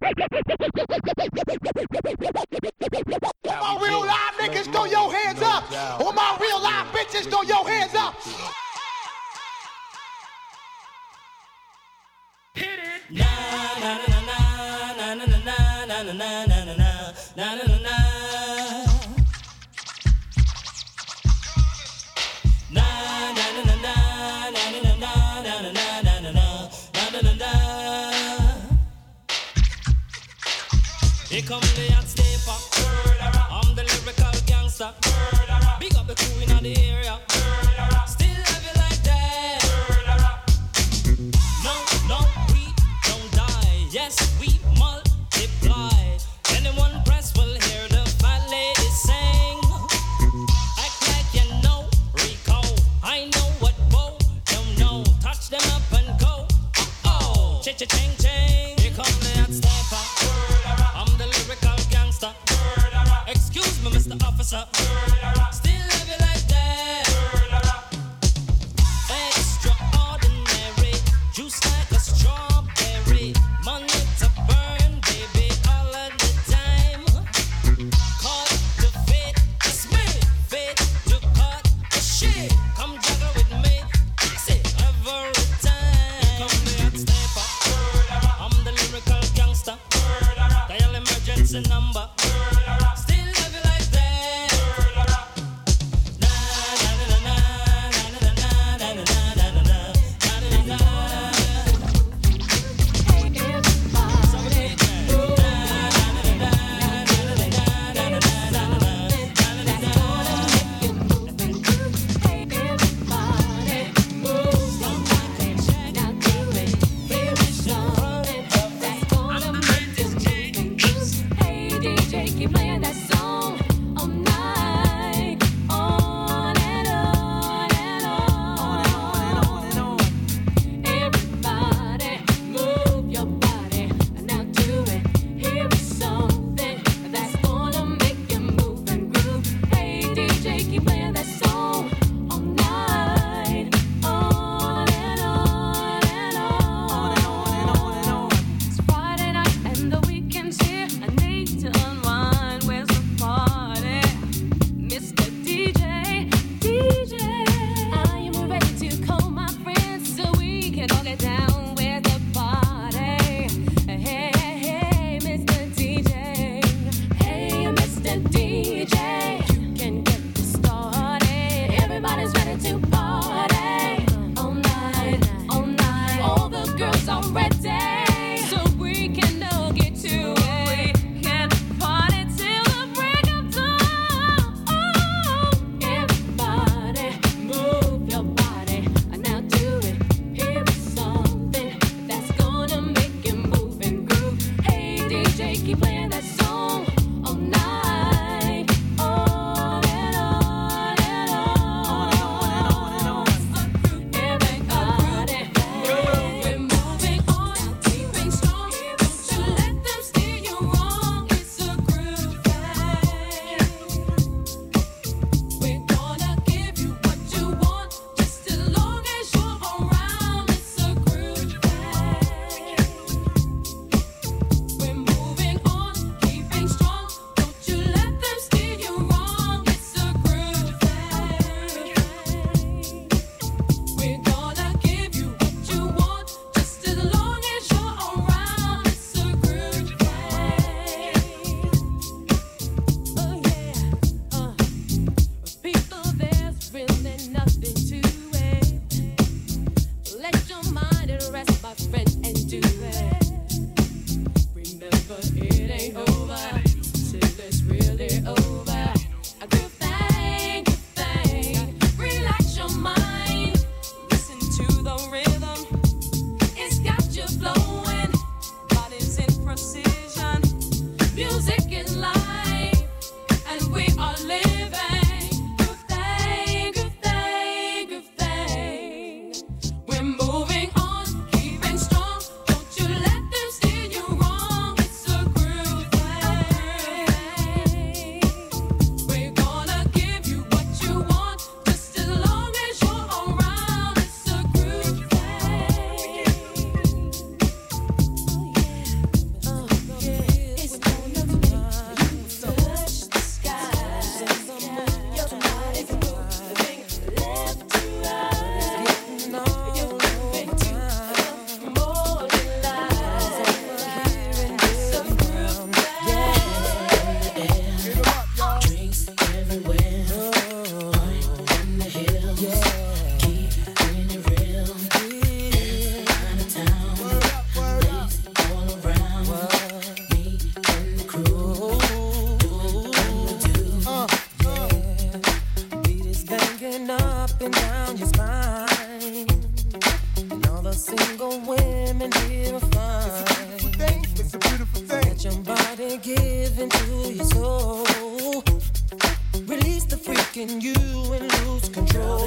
All my real live niggas, throw your hands up. All my real live bitches, throw your hands up. Hit it. Na na na na na na na na na na na na na na na. Here come the hot stepper. I'm the lyrical gangster. Big up the crew in the area. Still love you like that. No, no, we don't die. Yes, we multiply. Anyone press will hear the fat lady sing. Act like you know Rico. I know what Bo don't know. Touch them up and go. Oh, cha-cha-ching, ching. Here come the hot stepper. I'm the lyrical gangster. Excuse me, Mr. Officer. Still love you like that. Extraordinary. Juice like a strawberry. Money to burn, baby, all of the time. Caught the fit, it's me. Fit to cut the shit. Come juggle with me. Say every time. Come the hot stepper. I'm the lyrical gangster. Dial emergency number. Still love you like that. Na na na na na na na na na na na na na na. Hey DJ. body give into your soul. Release the freak in you and lose control.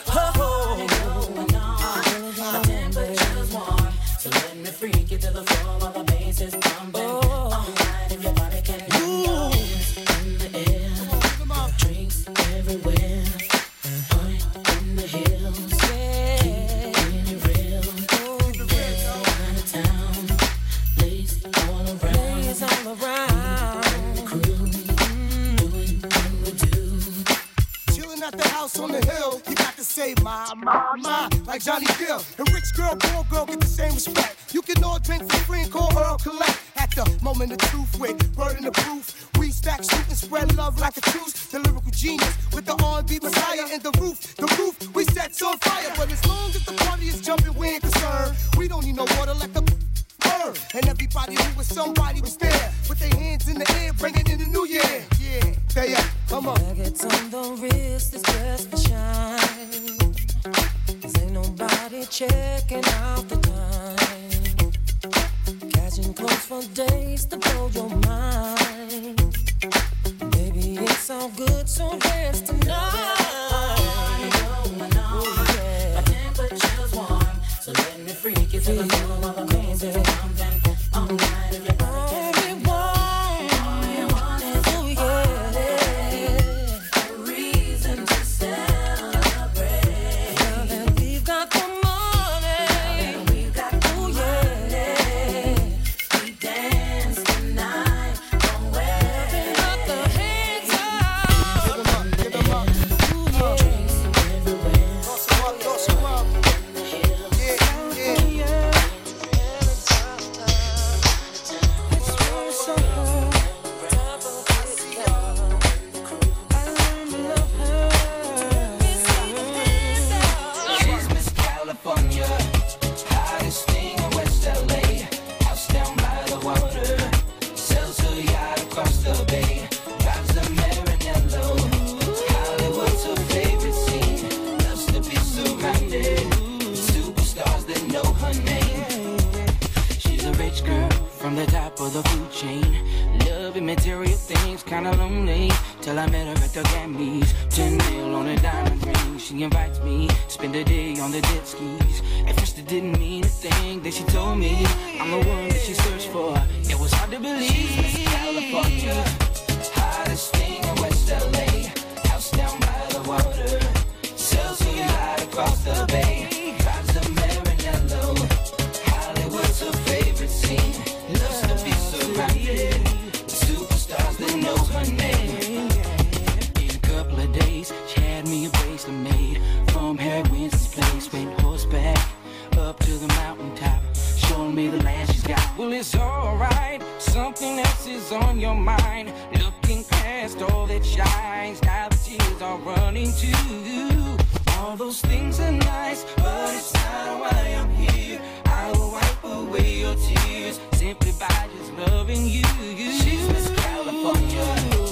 My temperature's warm, so let me freak you to the floor while the bass is pumping. All night if your body can move. In the air, drinks everywhere. Point in the hills, keeping it real. Out of town, lace all around. The crew, doing what we do. Chilling at the house on the hill, you got to say my, like Johnny Gill. And rich girl, poor girl get the same respect. You can all drink for free and call Earl Collect. At the moment of truth with word in the proof, we stack, shoot and spread love like a truce. The lyrical genius with the R&B messiah and the roof we set on fire. But as long as the party is jumping, we ain't concerned. We don't need no water, let the burn. And everybody who was somebody was there, with their hands in the air, bringing in the new year. Yeah, stay up, come on. Nuggets on the wrist is just for shine. 'Cause ain't nobody checking out the time. Catching close for days to blow your mind. Baby, it's all good, so dance tonight. I know. My temperature's warm, so let me freak you to the floor while the bass is pumping. All night if your body can move. All you want is a reason to celebrate. Now that we've got the money, we dance tonight. Don't wait. Got the hands up. Give them up. Drinks everywhere. Toss them up. Yeah. She's Miss California, hottest thing in West LA. House down by the water, sells her yacht across the bay. Drives the Maranello, Hollywood's her favorite scene. Loves to be surrounded with superstars that know her name. She's a rich girl from the top of the food chain. Loving material things, kinda lonely. Till I met her at the Grammys. 10 mil on a diamond ring. She invites me, spend a day on the jet skis. At first it didn't mean a thing. Then she told me I'm the one that she searched for. It was hard to believe. She's Miss California, hottest thing in West LA. House down by the water, sells her yacht across the bay. Drives the Maranello, Hollywood's her favorite scene. Loves to be surrounded with superstars that know her name. In a couple of days, she had me a bracelet made from Harry Winston's place. Went horseback up to the mountaintop, showing me the land she's got. Well, it's alright, something else is on your mind. Looking past all that shines, now the tears are running too. All those things are nice, but it's not why I'm here. I will wipe away your tears simply by just loving you. She's Miss California,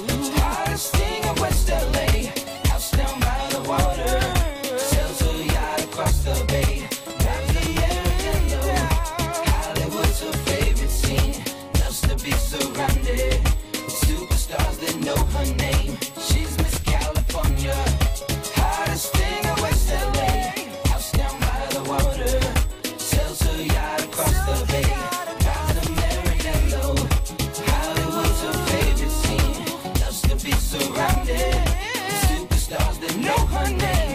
hottest thing in West LA. House down by the water, sells her yacht across the bay. Drives the Maranello, Hollywood's her favorite scene. Loves to be surrounded with superstars that know her name. She's Miss California, hottest thing in West LA. House down by the water, sells her yacht across the bay. Drives the Maranello, Hollywood's her favorite scene. Loves to be surrounded with superstars that know her name.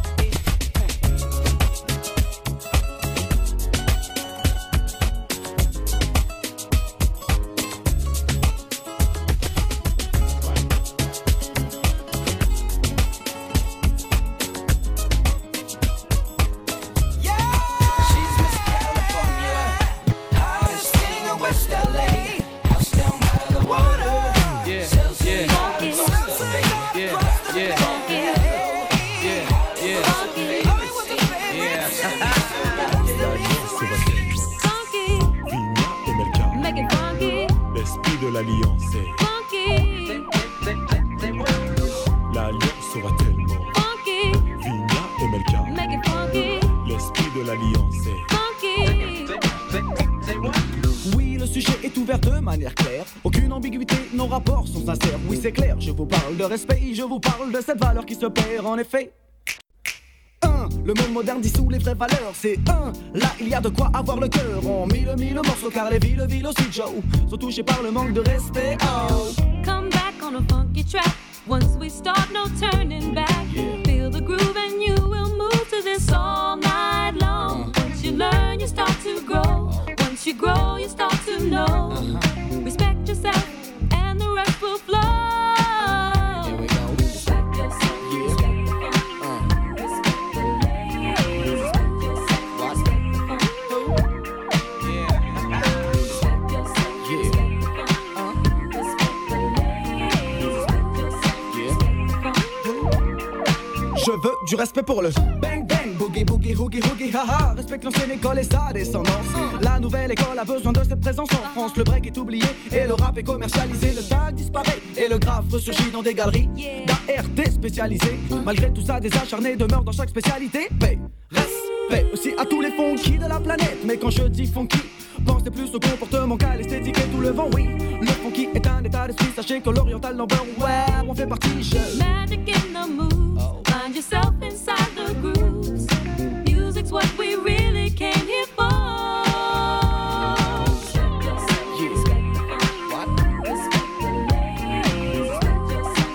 She's Miss California, hottest thing in West LA. House down by the water, sells her yacht across the bay. Vigna et Melka, l'esprit de l'alliance est. L'alliance sera tellement. Vigna et Melka, l'esprit de l'alliance est. Oui, le sujet est ouvert de manière claire. Aucune ambiguïté, nos rapports sont sincères. Oui, c'est clair, je vous parle de respect, je vous parle de cette valeur qui se perd en effet. Le monde moderne dissout les vraies valeurs. C'est là il y a de quoi avoir le cœur. En mille morceaux car les villes aussi Joe sont touchés par le manque de respect. Oh. Come back on a funky track. Once we start, no turning back. Feel the groove and you will move to this all night long. Once you learn, you start to grow. Once you grow, you start to know. Respect yourself and the rest will flow. Here we go. Respect yourself. Je veux du respect pour le bang bang, boogie boogie, hoogie hoogie, haha. Respecte l'ancienne école et sa descendance. La nouvelle école a besoin de cette présence en France. Le break est oublié et le rap est commercialisé. Le tag disparaît et le graphe ressurgit dans des galeries d'ART spécialisées. Malgré tout ça, des acharnés demeurent dans chaque spécialité. Paix, respect aussi à tous les funky de la planète. Mais quand je dis funky, pensez plus au comportement qu'à l'esthétique et tout le vent, oui. Le funky est un état d'esprit, sachez que l'oriental number one, on fait partie. Magic in the moves. Find yourself inside the grooves. Music's what we really came here for. Respect yourself. Yeah. What? Respect the ladies. Respect yourself.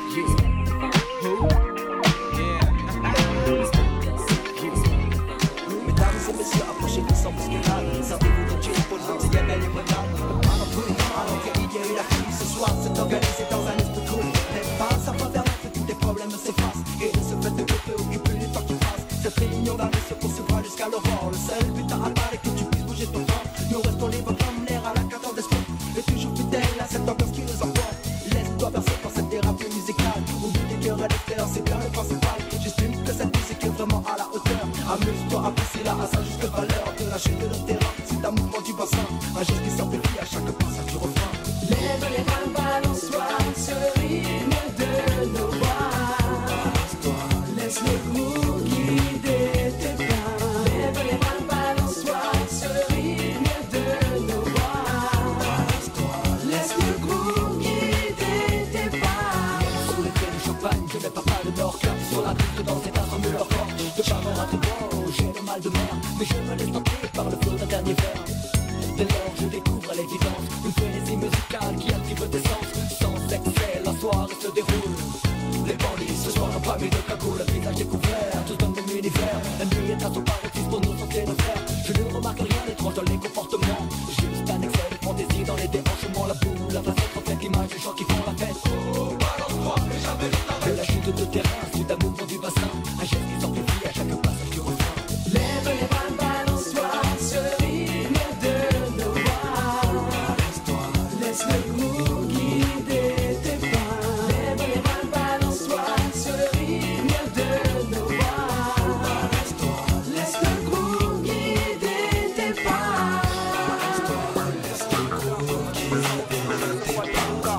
Respect yourself. Mesdames et messieurs, approchez-vous sans bousculade. Servez-vous de gin pour le y a belle limonade. Parapluie, alors qu'il y a eu la crise. Ce soir, c'est organisé dans un esprit cool. Les passes, ça va permettre que tous tes problèmes s'effacent. Et de ce fait de te préoccuper les temps qui passent. Cette réunion d'année se poursuivra jusqu'à l'aurore. Le seul but à atteindre est que tu puisses bouger ton corps. Nous restons libres comme l'air à la 14 d'esprit. Et toujours fidèles à cette ambiance qui nous emporte. Laisse-toi bercer par cette thérapie musicale. Oublie tes cœurs à l'extérieur, c'est bien le principal. J'estime que cette musique est vraiment à la hauteur. Amuse-toi, apprécie-la à sa juste valeur. De la chute de le terrain, c'est un mouvement du bassin. Un geste qui s'amplifie à chaque passage du refrain. Lève les mains, balance-toi, ce rythme de nos voix. Laisse le groove guider tes pas. Lève les mains, balance-toi, ce rythme de nos voix. Laisse le groove guider tes pas. Sous l'effet du champagne, je n'ai pas de nord. Clap sur la piste dans cet assemble leur corps. De parler à tout bon, j'ai le mal de mer. Mais je me laisse tenter par le flot d'un dernier verre. Dès lors je découvre l'évidence, une frénésie musicale qui active tes sens. Sans excès, la soirée se déroule. Les bandits ce soir n'ont pas mis de cagoule, le visage découvert, tous dans le même univers. La nuit est un son paraîtiste pour nous sentir nos frères. Je ne remarque rien d'étrange dans les comportements. Juste un excès de fantaisie dans les déhanchements. La boule, la facette reflète l'image des gens qui font la fête. Oh, balance-toi, mais jamais de la chute de terrain, suite à mouvement du bassin. Un geste qui s'amplifie à chaque passage du refrain. Lève les mains, balance-toi, ce rythme de nos voix. Laisse le groove guider tes pas. Lève les mains, balance-toi, ce rythme de nos voix. Laisse le groove guider tes pas. Laisse le groove guider tes pas.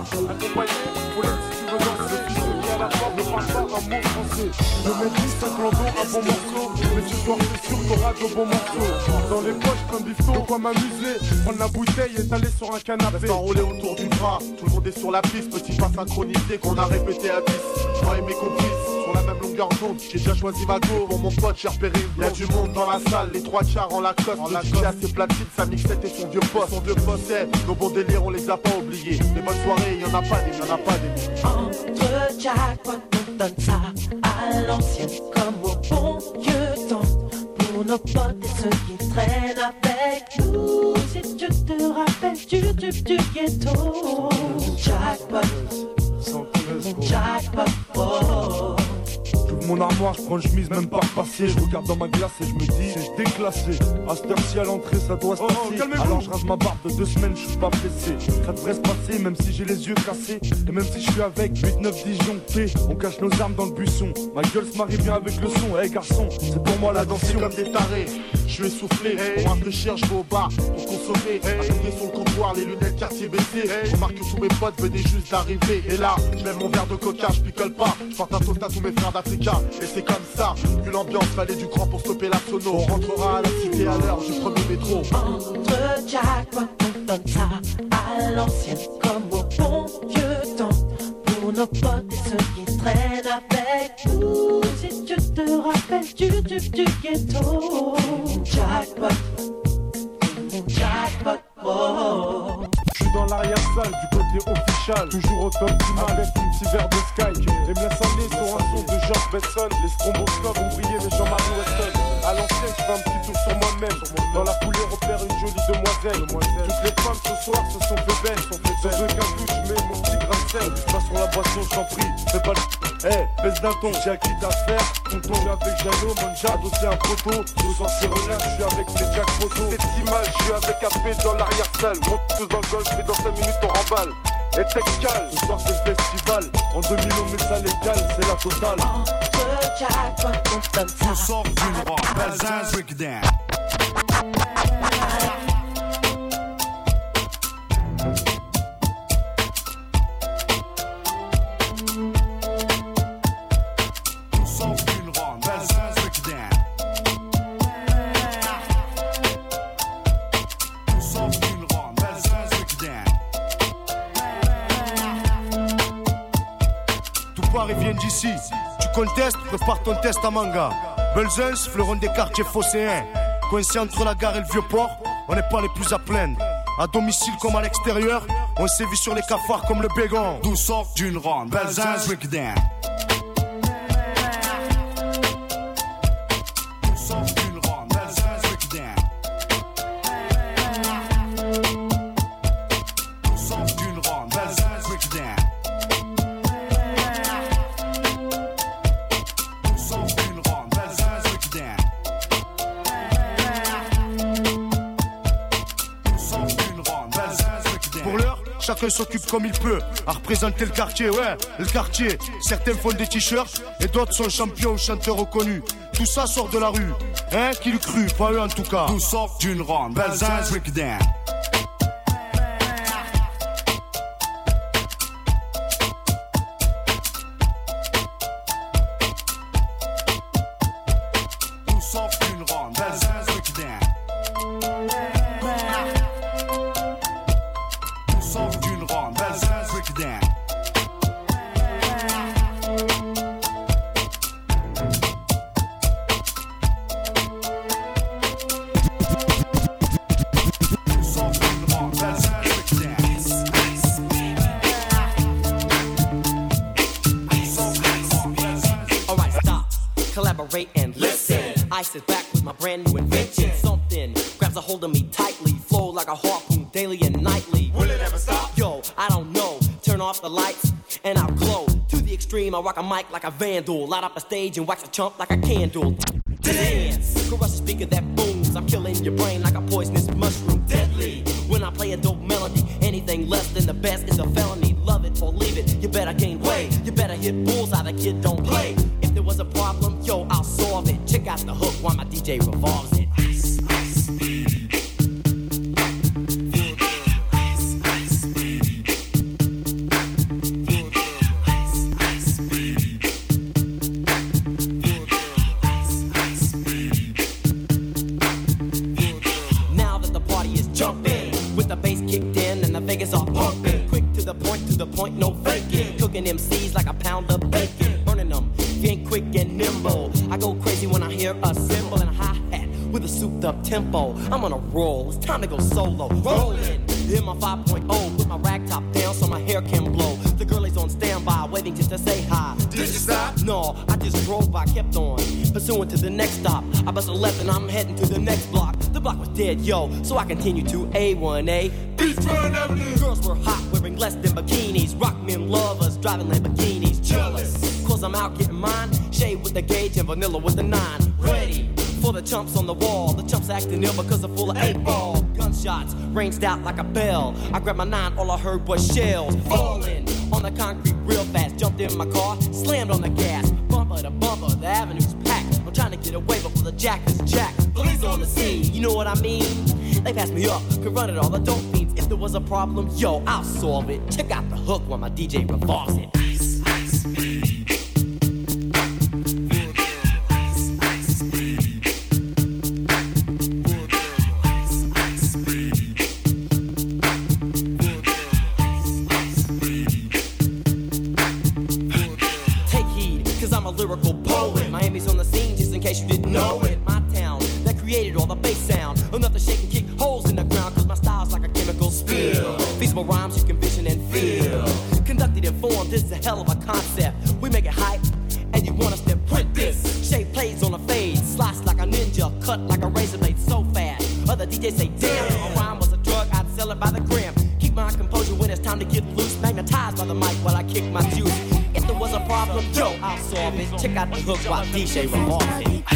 Le maîtrise ça clandon, un bon morceau. Mais ce soir c'est sûr t'auras de bons morceaux. Dans les poches comme bifton, de quoi m'amuser. Prendre la bouteille et t'aller sur un canapé. Reste enroulé autour du bras, tout le monde est sur la piste. Petit pas synchronisé qu'on a répété à 10. Moi et mes complices, sur la même longueur d'onde. J'ai déjà choisi ma go pour mon pote, j'ai repéré une blonde. Y'a du monde dans la salle, les trois quarts en Lacoste. Le DJ a ses platines, sa mixette et son vieux poste. Nos bons délires on les a pas oubliés. Les bonnes soirées, y'en a pas des, y'en a pas des. Entre jackpot, on donne ça à l'ancienne comme au bon vieux temps. Pour nos potes et ceux qui traînent avec nous. Si tu te rappelles du ghetto. Jackpot, jackpot, oh. J'ouvre mon armoire, je prends une chemise même pas repassée. Je regarde dans ma glace et je me dis c'est déclassé. À cette heure-ci à l'entrée ça doit se passer. Alors je rase ma barbe de 2 semaines, je suis pas pressé. Ça devrait se passer même si j'ai les yeux cassés. Et même si je suis avec 8-9 disjonctés. On cache nos armes dans le buisson. Ma gueule se marie bien avec le son. Hey garçon, c'est pour moi la danse. Comme des tarés, je suis essoufflé. Pour rafraîchir, je vais au bar pour consommer. Attendez sur le comptoir, les lunettes quartier baissées. Remarque que tous mes potes venaient juste d'arriver. Et là, je lève mon verre de coca, je picole pas. Je porte un toast à tous mes frères d'Africa. Et c'est comme ça, vu l'ambiance, fallait du cran pour stopper la sono. On rentrera à la cité à l'heure du premier métro. Entre jackpot, on comme ça, à l'ancienne, comme au bon vieux temps. Pour nos potes et ceux qui traînent avec nous. Si tu te rappelles du ghetto. Jackpot, jackpot, oh. Je suis dans l'arrière-salle du côté official, toujours au top du mal avec un petit verre de Sky. Et me laisse aller sur un son de George Benson. Les stromboscopes ont brillé les Jean-Marie Weston. À l'ancienne, je fais un petit tour sur moi-même. Dans la foulée, repère une jolie demoiselle. Toutes les femmes ce soir se sont fait belles. Sans aucun doute, je mets mon petit grain de sel. Pas sur la boisson, je t'en prie, fais pas le. Eh, baisse d'un ton, j'ai acquis d'affaires. Tonton avec Jeannot, Monja, dossier un photo. Ce soir c'est relais, je suis avec les Jack Photo. Cette image, je suis avec AP dans l'arrière-salle. Monte tous dans le golf et dans 5 minutes on remballe. Et Texcal, ce soir c'est le festival. En 2000 on met ça légal, c'est la totale. Tout sort d'une robe, Belzins, break it down. Ils viennent d'ici. Tu contestes, prépare ton test à manga. Belzins, fleuron des quartiers phocéens. Coincé entre la gare et le vieux port, on n'est pas les plus à plaindre. À domicile comme à l'extérieur, on sévit sur les cafards comme le bégon. D'où sort d'une ronde, Belzins, break it down. Chacun s'occupe comme il peut à représenter le quartier, ouais, le quartier. Certains font des t-shirts et d'autres sont champions ou chanteurs reconnus. Tout ça sort de la rue, hein, qui l'eût cru, pas eux en tout cas. Tout sort d'une ronde, Belzins, break it down. And listen, I sit back with my brand new invention. Something grabs a hold of me tightly, flow like a harpoon daily and nightly. Will it ever stop? Yo, I don't know. Turn off the lights and I'll glow. To the extreme, I rock a mic like a vandal. Light up a stage and wax a chump like a candle. Dance, crush a speaker that booms. I'm killing your brain like a poisonous mushroom. Deadly. When I play a dope melody, anything less than the best is a felony. Love it or leave it. You better gain weight. You better hit bullseye. The kid don't play. If there was a problem, yo, I'll solve it. Check out the hook while my DJ revolves it. Ice, ice, now that the party is jumping, with the bass kicked in and the Vegas are pumping. Quick to the point, no faking. Cooking MCs like a pound of bacon. Burning them, if you ain't quick and nimble. I go crazy when I hear a cymbal and a hi-hat with a souped up tempo. I'm on a roll, it's time to go solo. Rolling in my 5.0, put my rag top down so my hair can blow. The girl is on standby, waiting just to say hi. Did you stop? No, I just drove by, kept on pursuing to the next stop. I bust a left and I'm heading to the next block. The block was dead, yo, so I continue to A1A. Beachfront Avenue. Girls were hot, wearing less than bikinis. Rock men lovers, driving Lamborghinis. Jealous, cause I'm out getting mine. Shade with the gauge and vanilla with the 9. Ready for the chumps on the wall. The chumps acting ill because they're full of 8-ball. Gunshots ranged out like a bell. I grabbed my 9, all I heard was shells falling on the concrete real fast. Jumped in my car, slammed on the gas. Bumper to bumper, the avenue's packed. I'm trying to get away before the jack is jacked. Police on the scene, you know what I mean? They passed me up, could run it all, the dope fiends. If there was a problem, yo, I'll solve it. Check out the hook while my DJ revolves it. Ice, ice, my rhymes you can vision and feel. Conducted in form, this is a hell of a concept. We make it hype, and you want us to print this. Shape plays on a fade, slice like a ninja, cut like a razor blade so fast. Other DJs say, damn, if a rhyme was a drug, I'd sell it by the gram. Keep my composure when it's time to get loose. Magnetized by the mic while I kick my juice. If there was a problem, yo, I'll solve it. Check out the hook while DJ revolves it.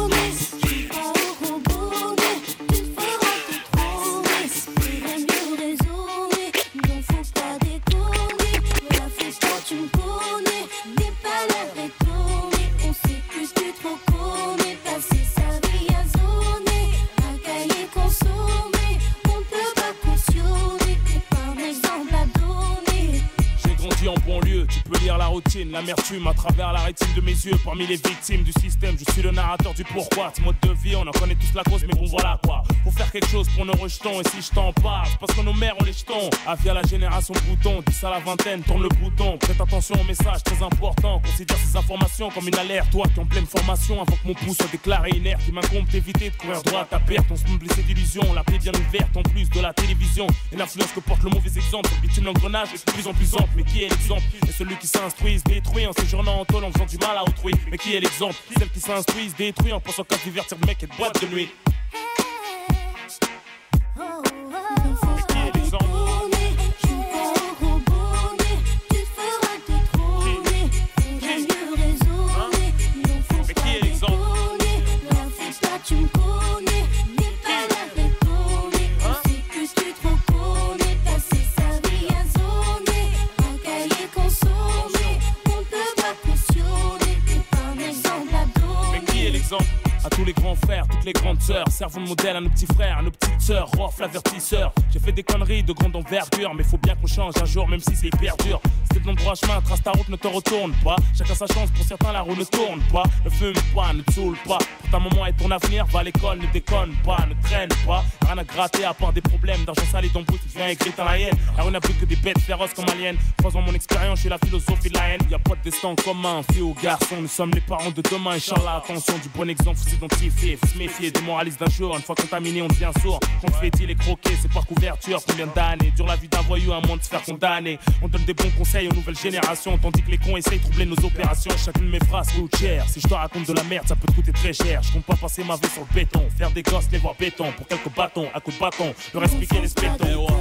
L'amertume à travers la rétine de mes yeux. Parmi les victimes du système, je suis le narrateur du pourquoi. Ce mode de vie, on en connaît tous la cause, mais bon voilà quoi. Faut faire quelque chose pour nos rejetons. Et si je t'en parle, c'est parce que nos mères ont les jetons. Via la génération bouton, 10 à la vingtaine, tourne le bouton. Prête attention au message très important. Considère ces informations comme une alerte. Toi qui es en pleine formation, avant que mon pouce soit déclaré inerte, il m'incombe d'éviter de courir droit à perte. On se me blessé d'illusions, la plaie bien ouverte en plus de la télévision. Et l'influence que porte le mauvais exemple, le bitume l'engrenage est de plus en plus ample. Mais qui est l'exemple? Et celui qui s'instruise, détruit en séjournant en tôle en faisant du mal à autrui. Mais qui est l'exemple? Celle qui s'instruise, détruit en pensant qu'à divertir le mec et de boîte de nuit. Qui est l'exemple? À tous les grands frères, toutes les grandes sœurs, servons de modèle à nos petits frères, à nos petites sœurs, Rof l'avertisseur. J'ai fait des conneries de grande envergure, mais faut bien qu'on change un jour, même si c'est hyper dur. Si t'es dans le droit chemin, trace ta route, ne te retourne pas. Chacun sa chance, pour certains la roue ne tourne pas. Ne fume pas, ne te saoule pas. Pour ta maman et ton avenir, va à l'école, ne déconne pas, ne traîne pas. Rien à gratter à part des problèmes d'argent sale et d'embrouille, tu viens écrire dans la haine. La rue n'a plus que des bêtes féroces comme aliens. Croisant mon expérience, je suis la philosophie de la haine. Y'a pas de destin commun, fille ou garçon, nous sommes les parents de demain. Inch'Allah, attention, du bon exemple, faut s'identifier, faut se méfier des moralistes d'un jour. Une fois contaminé, on devient sourd. Quand tu fais dit les croquer, c'est par couverture. Combien d'années dure la vie d'un voyou à moins de se faire condamner. On donne des bons conseils aux nouvelles générations, tandis que les cons essayent de troubler nos opérations. Chacune de mes phrases coûte cher. Si je te raconte de la merde, ça peut te coûter très cher. Je compte pas passer ma vie sur le béton, faire des gosses, les voir béton. Pour quelques bâtons, à coups de bâton, leur expliquer les spectons.